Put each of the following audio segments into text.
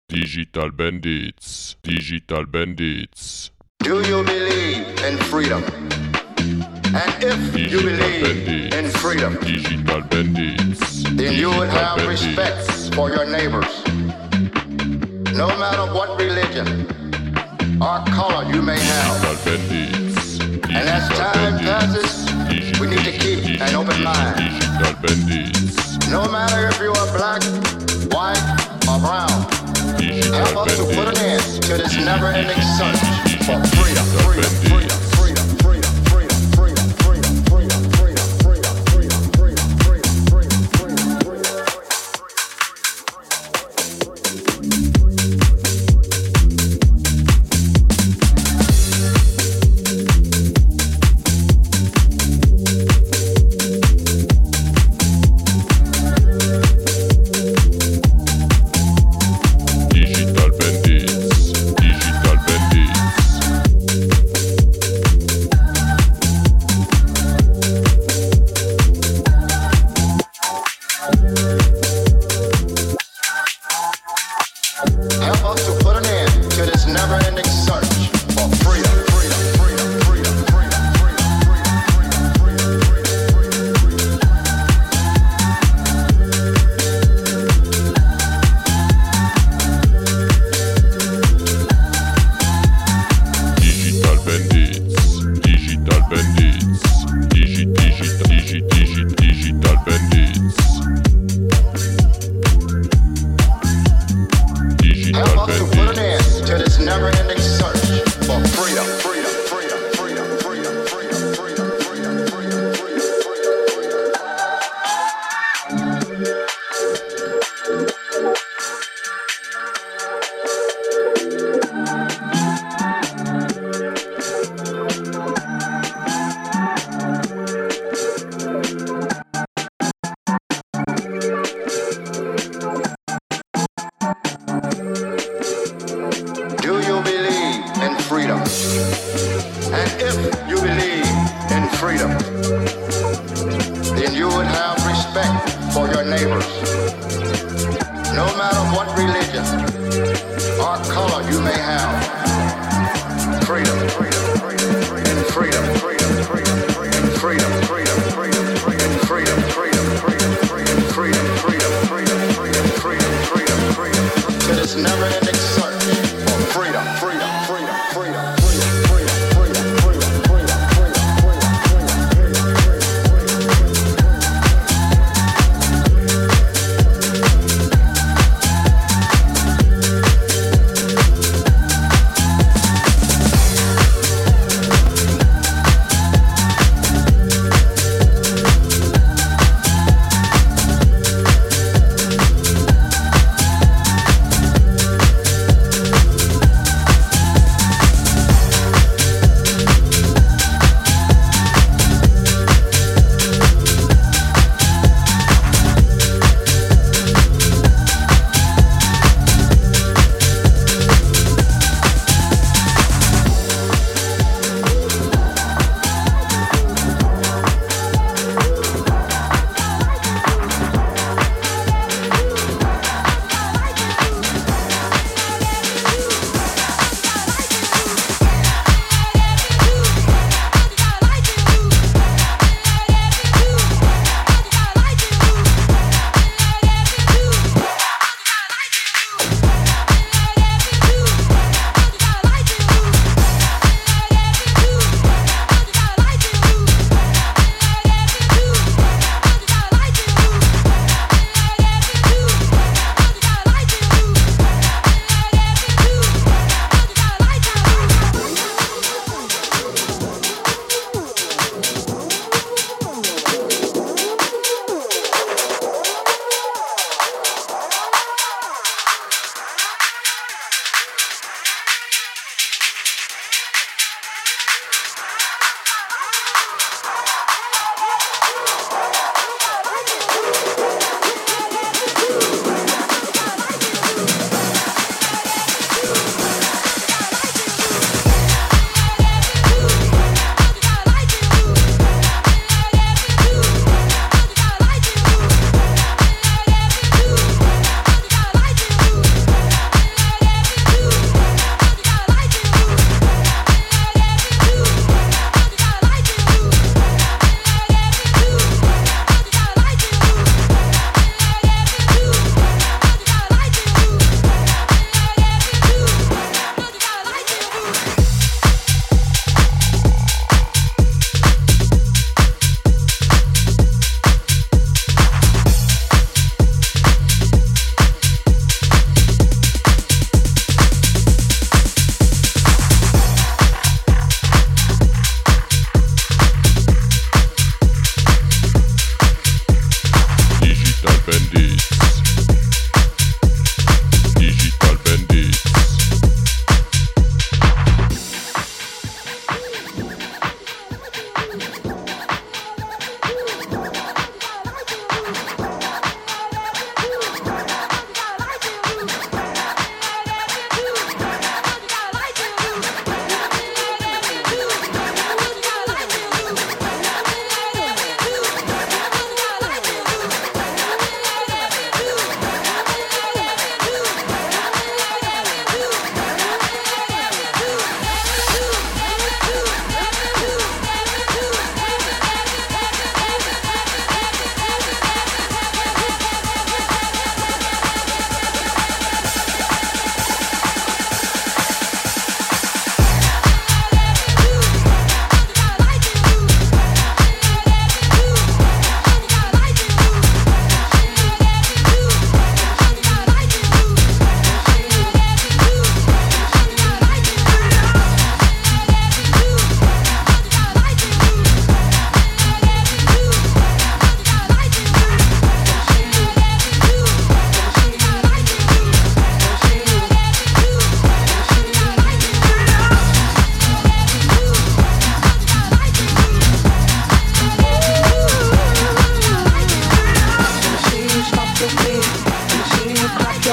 Digital Bandits, Digital Bandits. Do you believe in freedom? And if you believe in freedom, Digital Bandits, then you would have respect for your neighbors. No matter what religion or color you may have. And as time passes, we need to keep an open mind. No matter if you are black, white, or brown, help us to put an end to this never-ending search for freedom, freedom, freedom.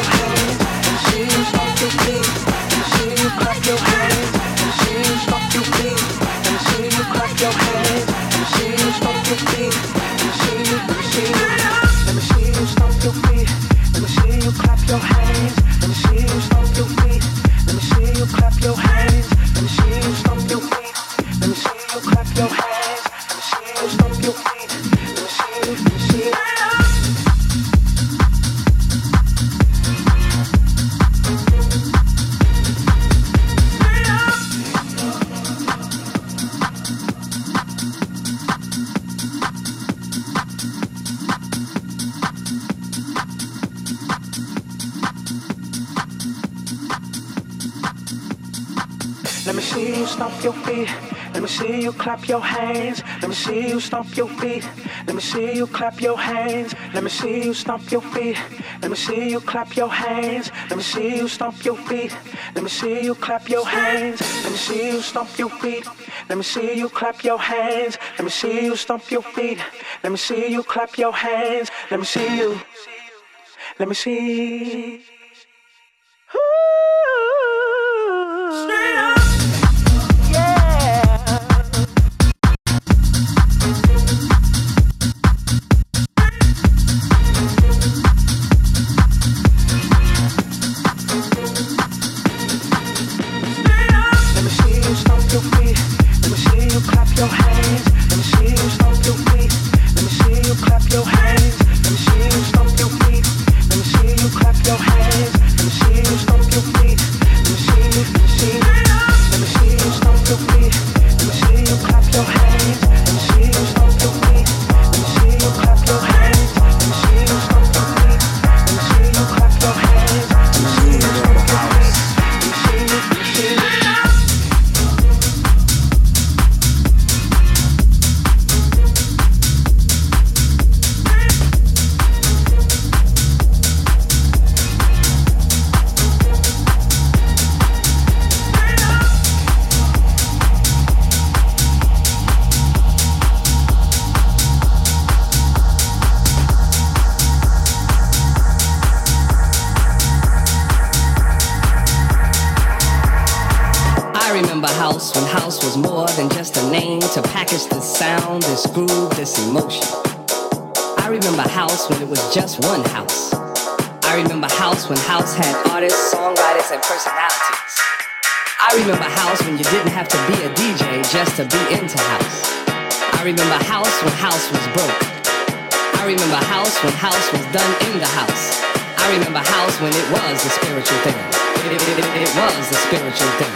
Let me see you stomp your feet. Let me see you clap your hands. Let me see you stomp your feet. Let me see you clap your hands. Let me see you stomp your feet. Let me see you clap your hands. Let me see you stomp your feet. Let me see you clap your hands. Let me see you stomp your feet. Let me see you clap your hands. Let me see you stomp your feet. Let me see you clap your hands. Let me see you. Let me see. Straight up. When house was more than just a name to package this sound, this groove, this emotion. I remember house when it was just one house. I remember house when house had artists, songwriters, and personalities. I remember house when you didn't have to be a DJ just to be into house. I remember house when house was broke. I remember house when house was done in the house. I remember house when it was a spiritual thing. It was a spiritual thing.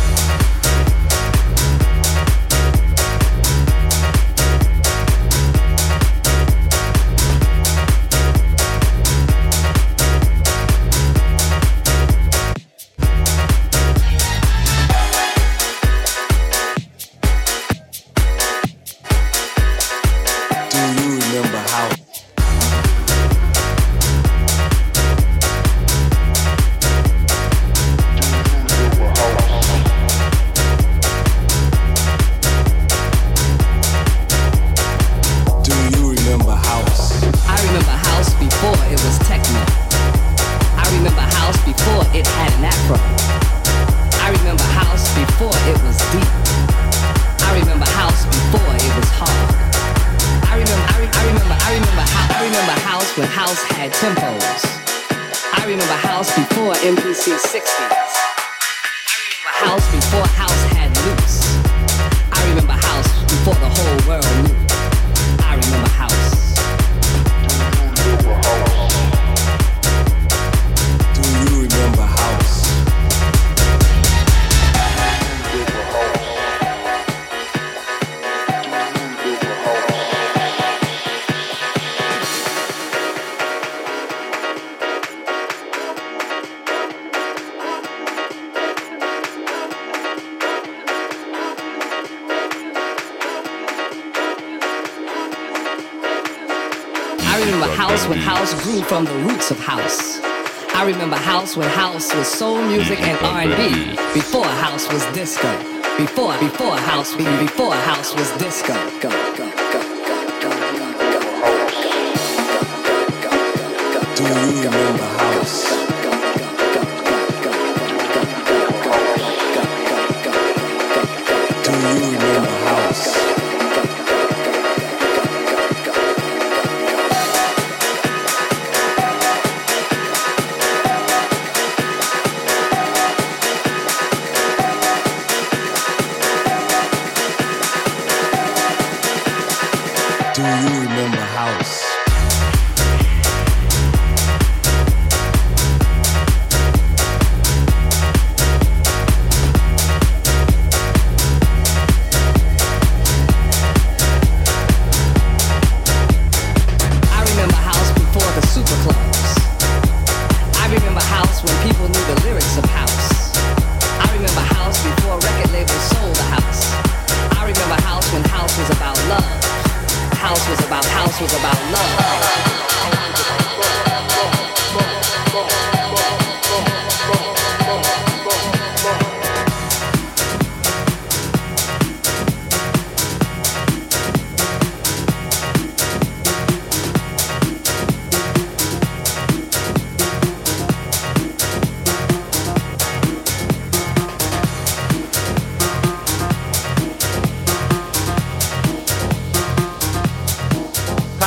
When house grew from the roots of house. I remember house when house was soul music and R&B. Before house was disco. Before house was disco. Go, go, go, go, go, go, go, go, go, go, go, go. Do you remember house?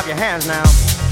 your hands now.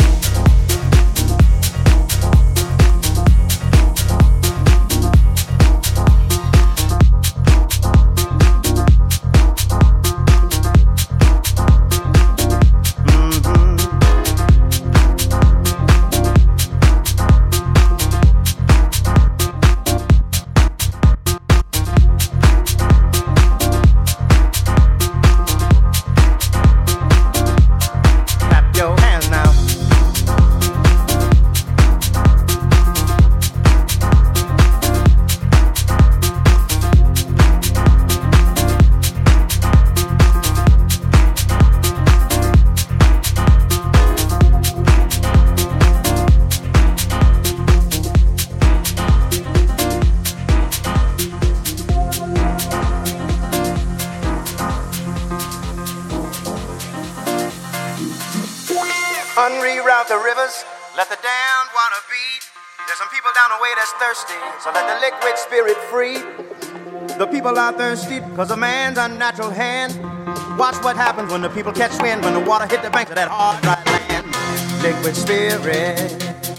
Unreroute the rivers, let the damned water beat. There's some people down the way that's thirsty, so let the liquid spirit free. The people are thirsty because of man's unnatural hand. Watch what happens when the people catch wind, when the water hit the banks of that hard, dry land. Liquid spirit,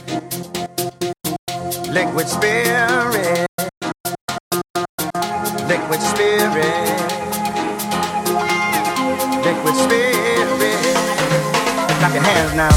liquid spirit, liquid spirit, liquid spirit. Clap your hands now.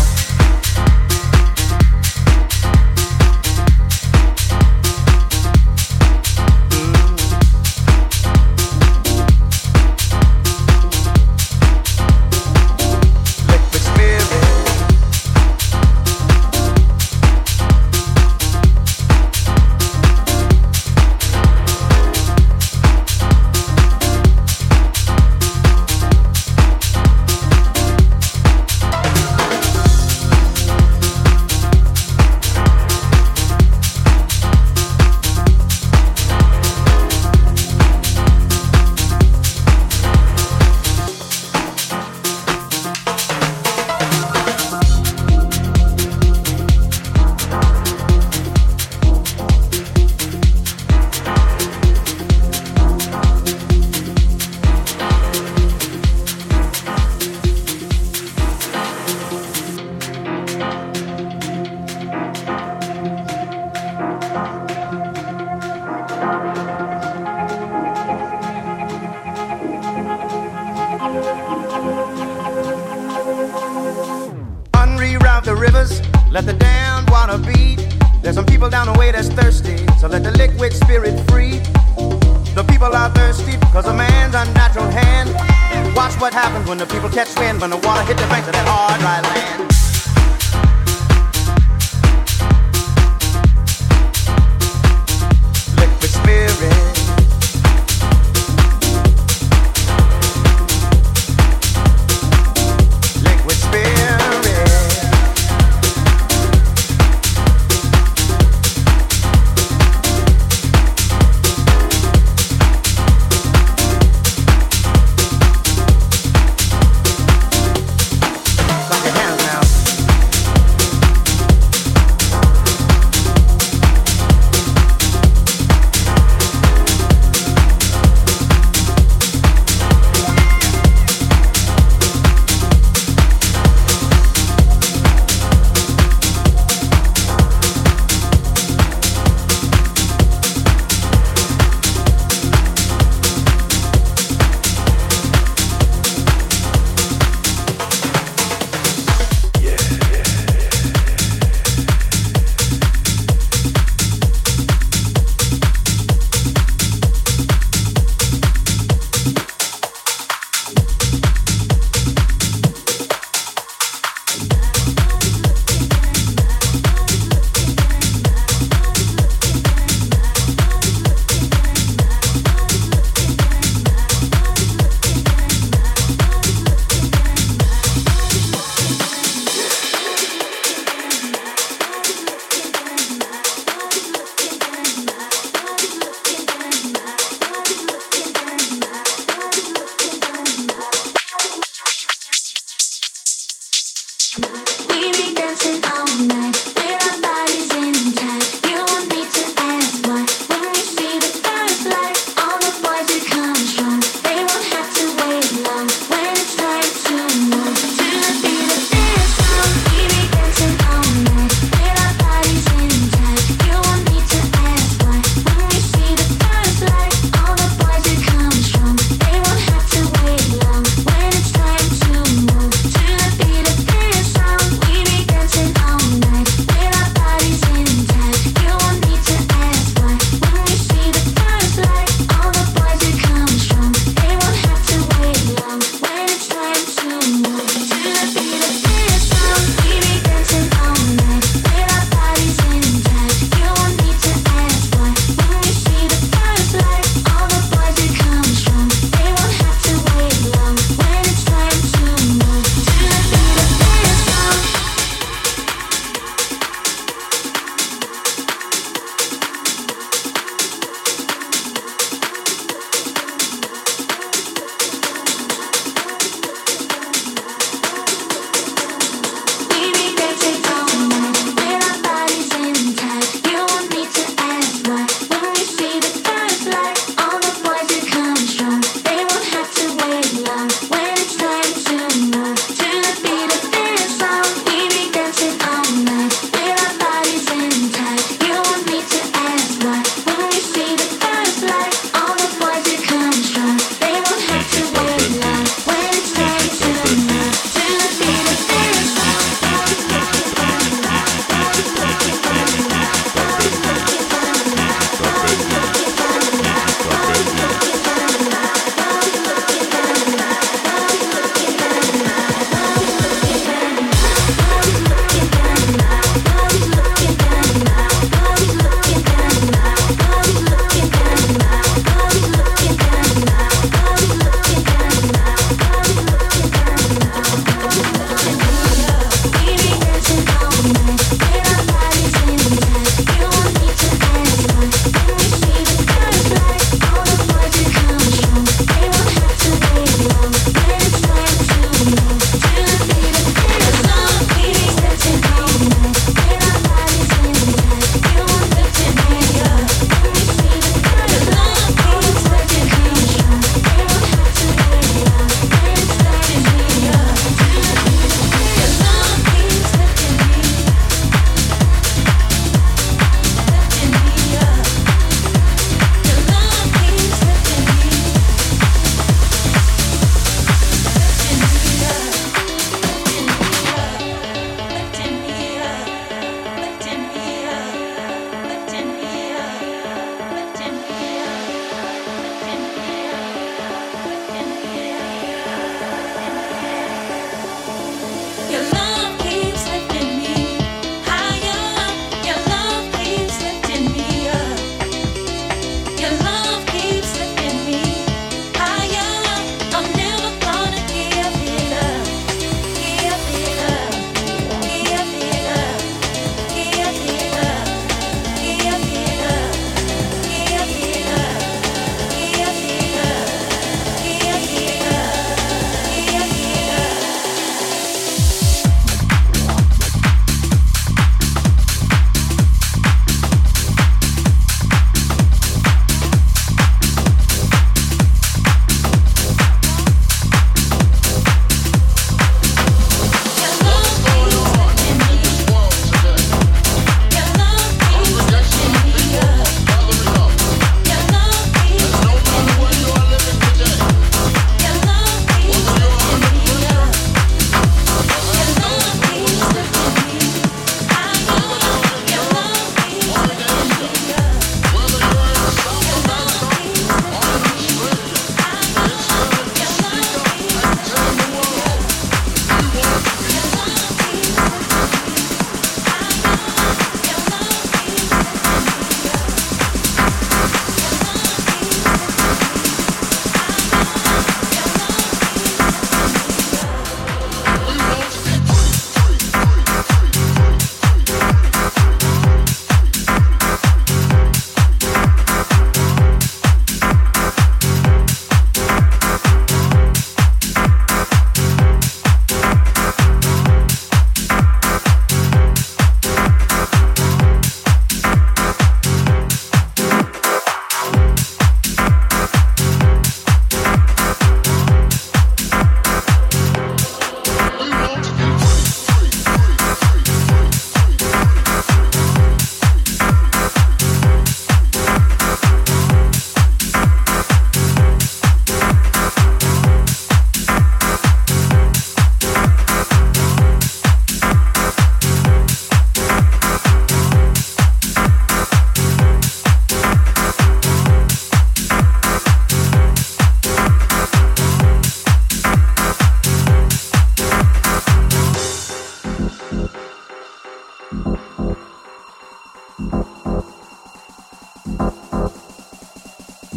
Unreroute the rivers, let the damned water beat. There's some people down the way that's thirsty, so let the liquid spirit free. The people are thirsty because of man's unnatural hand. Watch what happens when the people catch wind, when the water hit the banks of that hard, dry land. Liquid spirit, liquid spirit. Clap your hands now.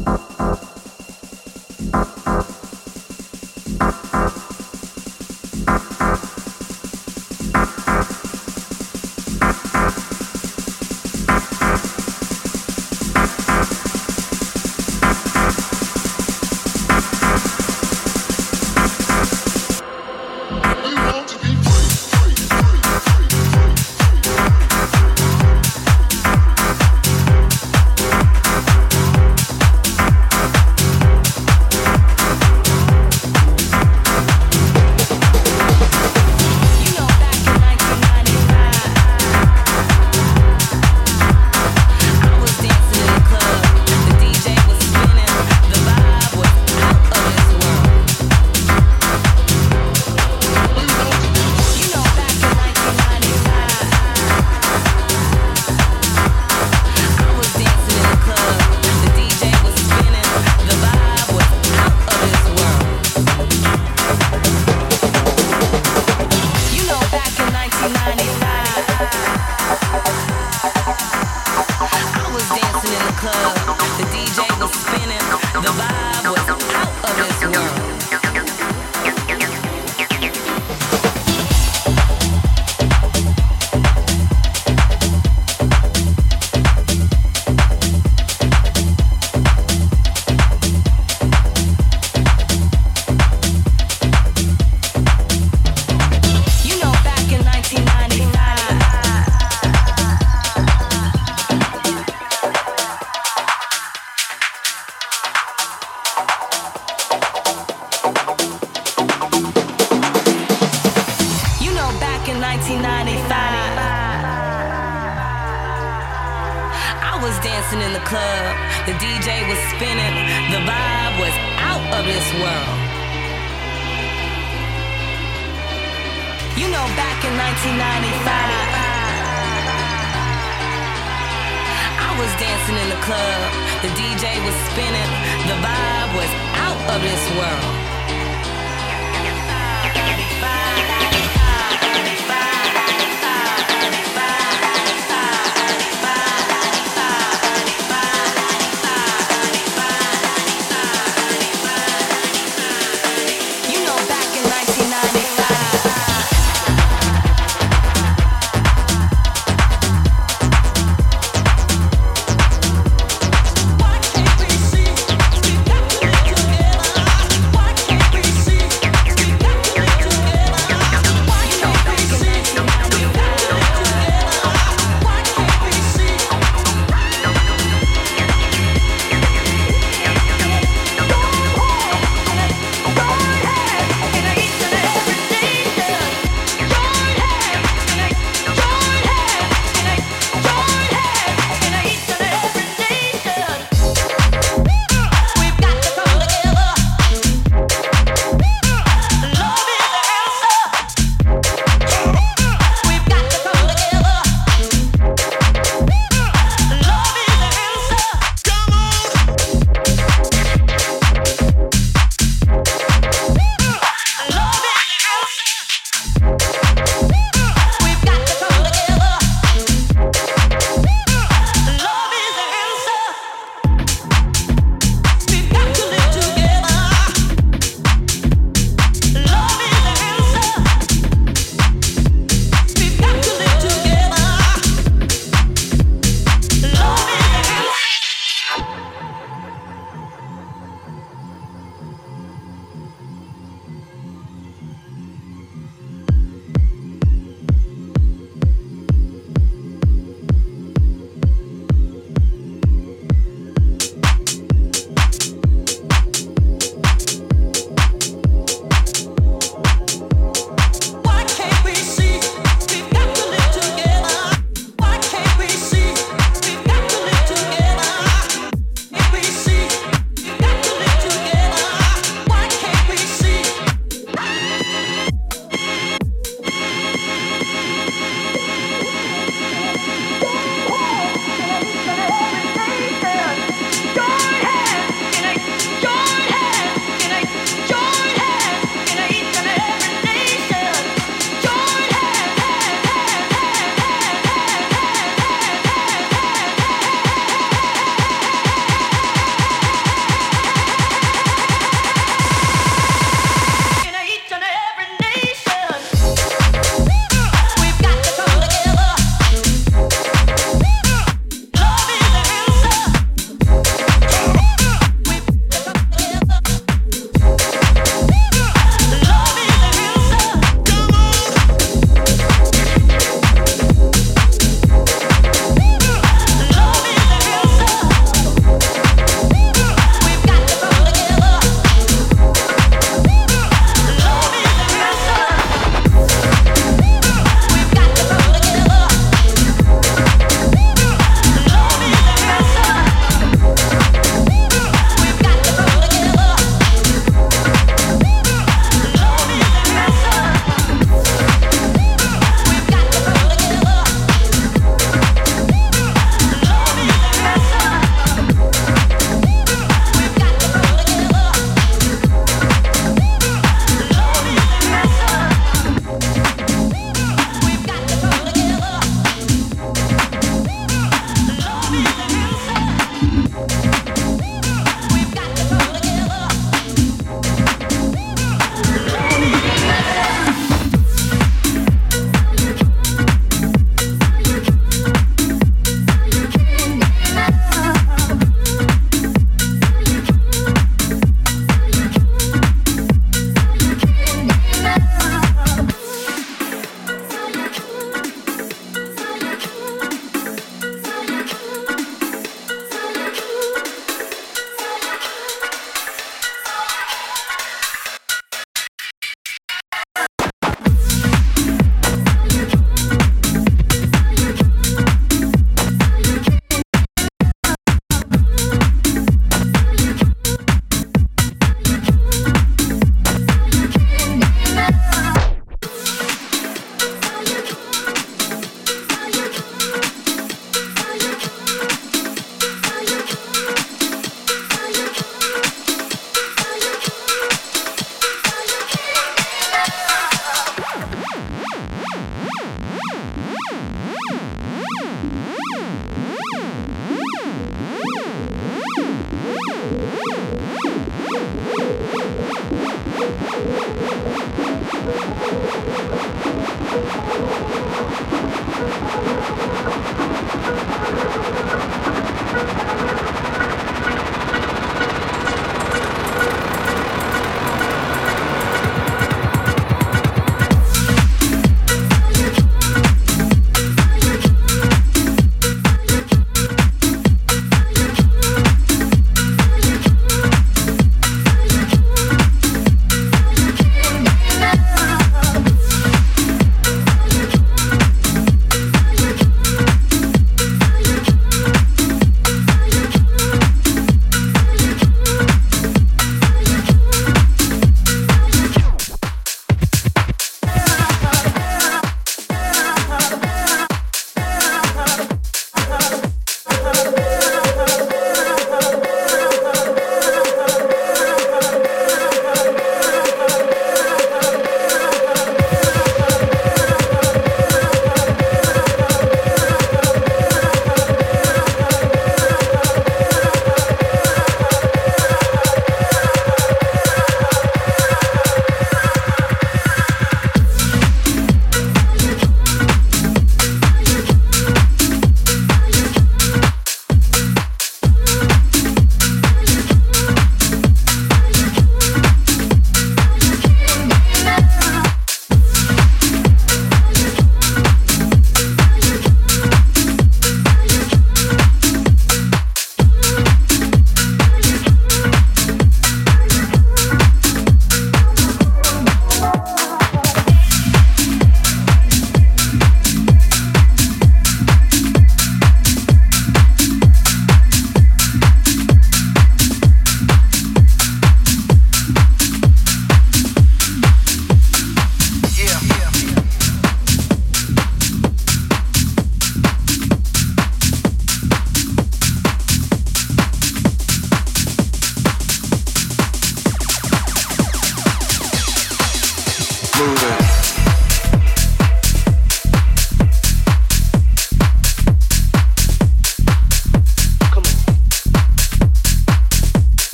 Why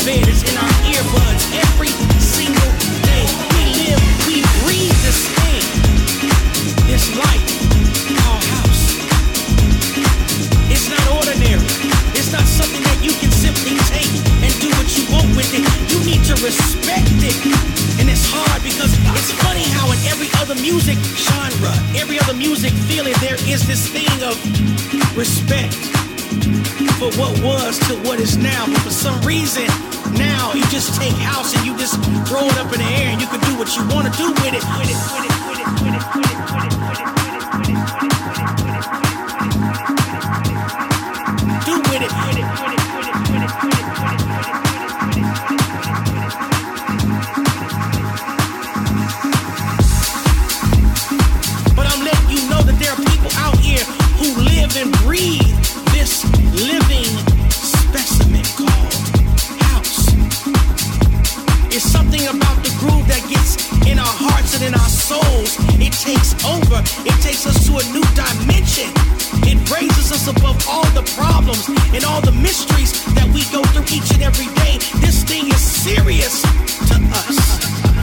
bed, it's in our earbuds every single day. We live, we breathe this thing, this life, our house. It's not ordinary. It's not something that you can simply take and do what you want with it. You need to respect it. And it's hard because it's funny how in every other music genre, every other music feeling, there is this thing of respect for what was to what is now. But for some reason, now you just take house and you just throw it up in the air and you can do what you want to do with it. Do with it. But I'm letting you know that there are people out here who live and breathe this living specimen called house. It's something about the groove that gets in our hearts and in our souls. It takes over. It takes us to a new dimension. It raises us above all the problems and all the mysteries that we go through each and every day. This thing is serious to us.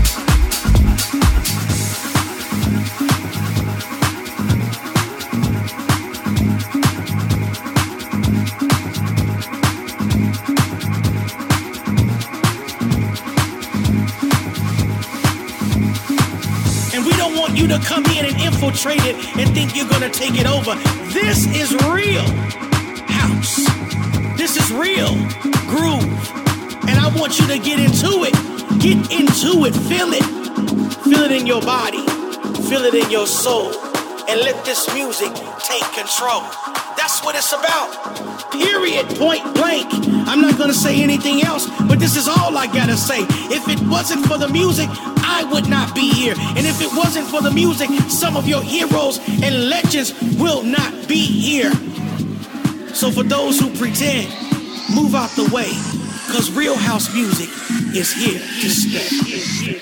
You to come in and infiltrate it and think you're gonna take it over. This is real house. This is real groove. And I want you to get into it. Get into it. Feel it. Feel it in your body. Feel it in your soul. And let this music take control. That's what it's about. Period. Point blank. I'm not gonna say anything else, but this is all I gotta say. If it wasn't for the music, I would not be here. And if it wasn't for the music, some of your heroes and legends will not be here. So for those who pretend, move out the way, cause real house music is here to stay.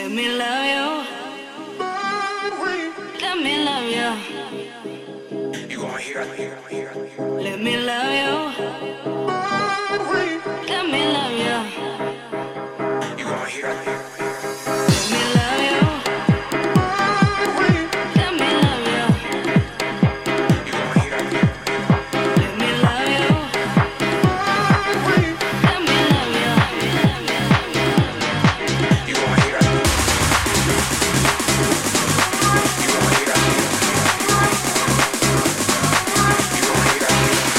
Let me love you. Let me love you. You gonna hear it. Let me love you. Let me love you. You gonna hear it. Let me love you. Let me love you. You gonna hear it. Let me love you. Let me love you. You gonna hear it. You gonna hear it. You gonna hear it.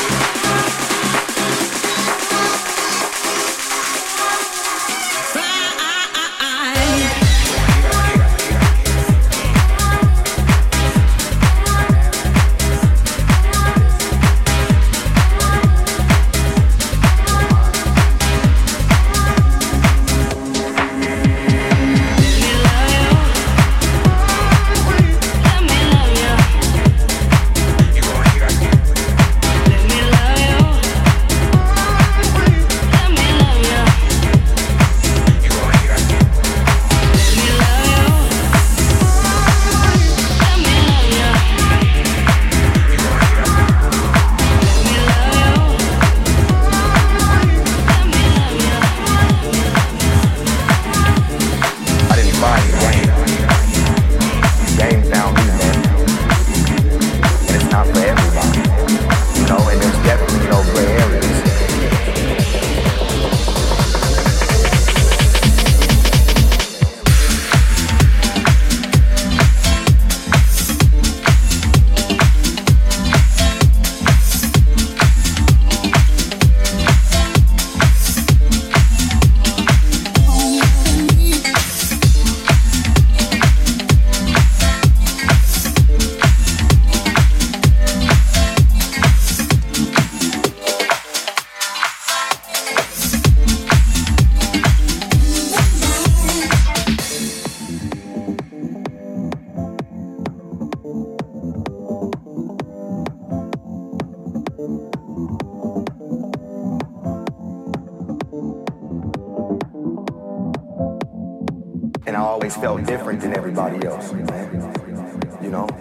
And I always felt different than everybody else, man. You know,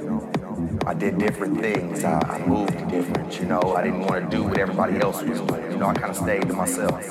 I did different things. I moved different, you know. I didn't want to do what everybody else was doing. You know, I kind of stayed to myself.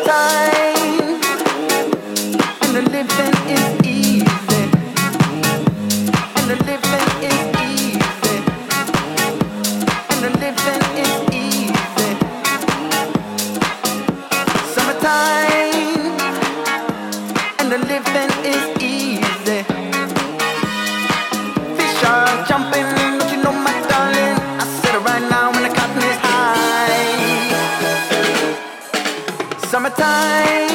Summertime, and the living is easy, and the living is easy, and the living is easy. Summertime, and the living is easy. Fish are jumping, don't you know, my darling? I said it right now when the cotton is high. Summertime.